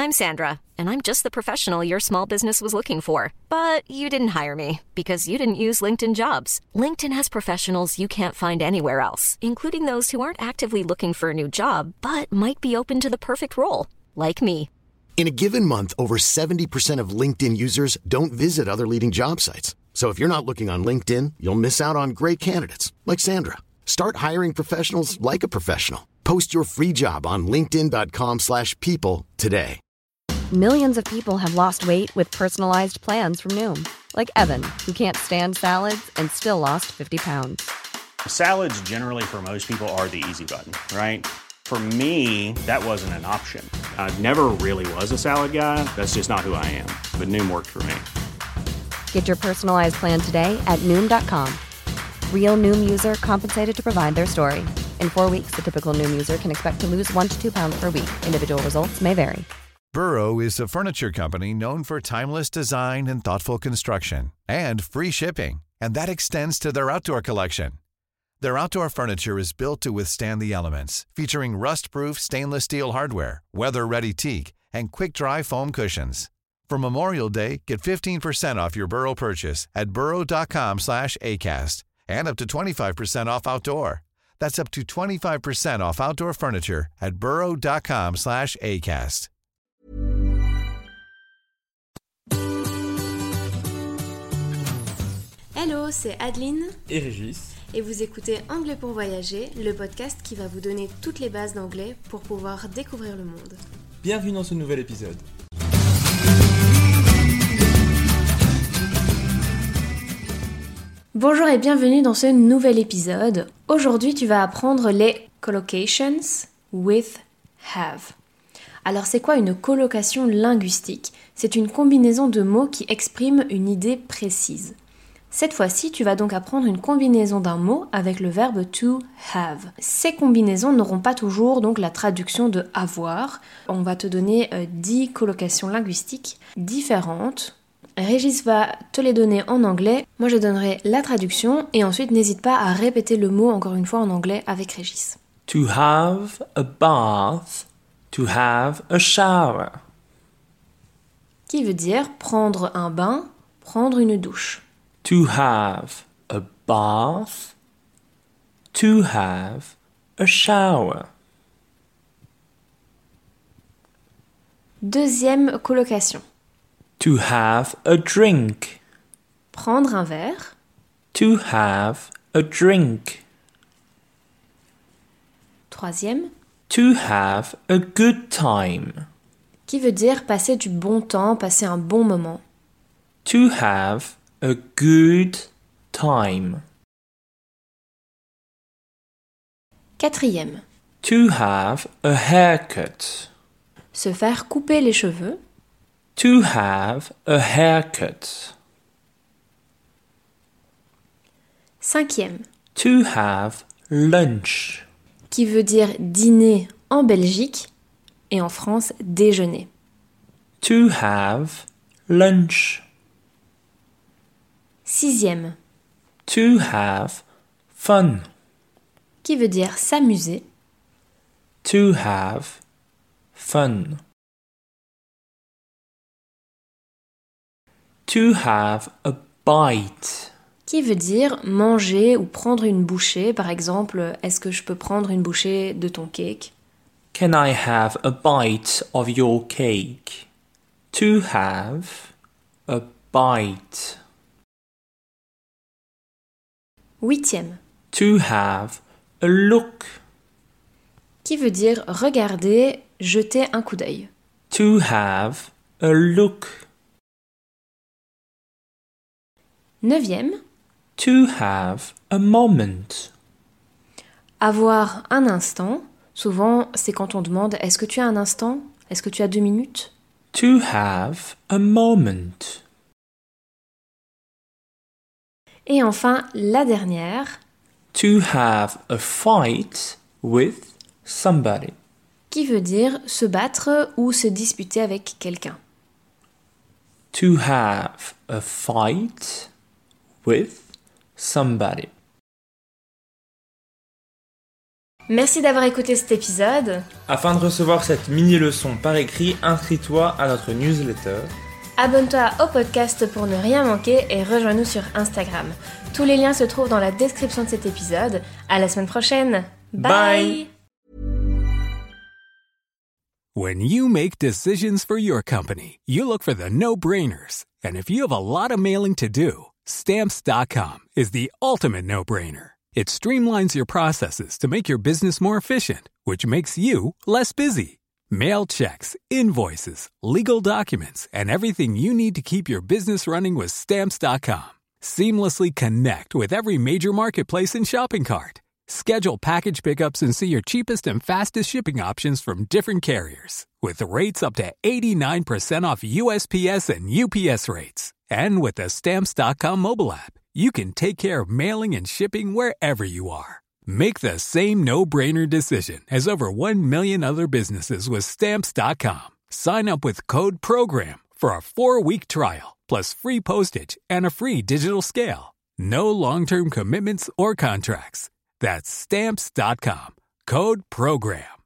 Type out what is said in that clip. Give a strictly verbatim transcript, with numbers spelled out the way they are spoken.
I'm Sandra, and I'm just the professional your small business was looking for. But you didn't hire me because you didn't use LinkedIn Jobs. LinkedIn has professionals you can't find anywhere else, including those who aren't actively looking for a new job, but might be open to the perfect role, like me. In a given month, over seventy percent of LinkedIn users don't visit other leading job sites. So if you're not looking on LinkedIn, you'll miss out on great candidates like Sandra. Start hiring professionals like a professional. Post your free job on linkedin.com slash people today. Millions of people have lost weight with personalized plans from Noom. Like Evan, who can't stand salads and still lost fifty pounds. Salads generally for most people are the easy button, right? For me, that wasn't an option. I never really was a salad guy. That's just not who I am. But Noom worked for me. Get your personalized plan today at Noom dot com. Real Noom user compensated to provide their story. In four weeks, the typical Noom user can expect to lose one to two pounds per week. Individual results may vary. Burrow is a furniture company known for timeless design and thoughtful construction, and free shipping, and that extends to their outdoor collection. Their outdoor furniture is built to withstand the elements, featuring rust-proof stainless steel hardware, weather-ready teak, and quick-dry foam cushions. For Memorial Day, get fifteen percent off your Burrow purchase at burrow.com slash ACAST and up to twenty-five percent off outdoor. That's up to twenty-five percent off outdoor furniture at burrow.com slash ACAST. Hello, c'est Adeline et Régis. Et vous écoutez Anglais pour voyager, le podcast qui va vous donner toutes les bases d'anglais pour pouvoir découvrir le monde. Bienvenue dans ce nouvel épisode. Bonjour et bienvenue dans ce nouvel épisode. Aujourd'hui, tu vas apprendre les collocations with have. Alors, c'est quoi une collocation linguistique ? C'est une combinaison de mots qui exprime une idée précise. Cette fois-ci, tu vas donc apprendre une combinaison d'un mot avec le verbe to have. Ces combinaisons n'auront pas toujours donc la traduction de avoir. On va te donner euh, dix collocations linguistiques différentes. Régis va te les donner en anglais. Moi, je donnerai la traduction et ensuite n'hésite pas à répéter le mot encore une fois en anglais avec Régis. To have a bath, to have a shower. Qui veut dire prendre un bain, prendre une douche. To have a bath, to have a shower. Deuxième collocation. To have a drink. Prendre un verre. To have a drink. Troisième. To have a good time. Qui veut dire passer du bon temps, passer un bon moment. To have a good time. Quatrième. To have a haircut. Se faire couper les cheveux. To have a haircut. Cinquième. To have lunch. Qui veut dire dîner en Belgique et en France déjeuner. To have lunch. Sixième. To have fun. Qui veut dire s'amuser. To have fun. To have a bite. Qui veut dire manger ou prendre une bouchée. Par exemple, est-ce que je peux prendre une bouchée de ton cake? Can I have a bite of your cake? To have a bite. Huitième. To have a look. Qui veut dire regarder, jeter un coup d'œil. To have a look. Neuvième. To have a moment. Avoir un instant. Souvent, c'est quand on demande « Est-ce que tu as un instant ? Est-ce que tu as deux minutes ?» To have a moment. Et enfin, la dernière. To have a fight with somebody. Qui veut dire se battre ou se disputer avec quelqu'un. To have a fight with somebody. Merci d'avoir écouté cet épisode. Afin de recevoir cette mini-leçon par écrit, inscris-toi à notre newsletter. Abonne-toi au podcast pour ne rien manquer et rejoins-nous sur Instagram. Tous les liens se trouvent dans la description de cet épisode. À la semaine prochaine. Bye. Bye. When you make decisions for your company, you look for the no-brainers. And if you have a lot of mailing to do, Stamps dot com is the ultimate no-brainer. It streamlines your processes to make your business more efficient, which makes you less busy. Mail checks, invoices, legal documents, and everything you need to keep your business running with Stamps dot com. Seamlessly connect with every major marketplace and shopping cart. Schedule package pickups and see your cheapest and fastest shipping options from different carriers. With rates up to eighty-nine percent off U S P S and U P S rates. And with the Stamps dot com mobile app, you can take care of mailing and shipping wherever you are. Make the same no-brainer decision as over one million other businesses with Stamps dot com. Sign up with code PROGRAM for a four-week trial, plus free postage and a free digital scale. No long-term commitments or contracts. That's Stamps dot com. Code PROGRAM.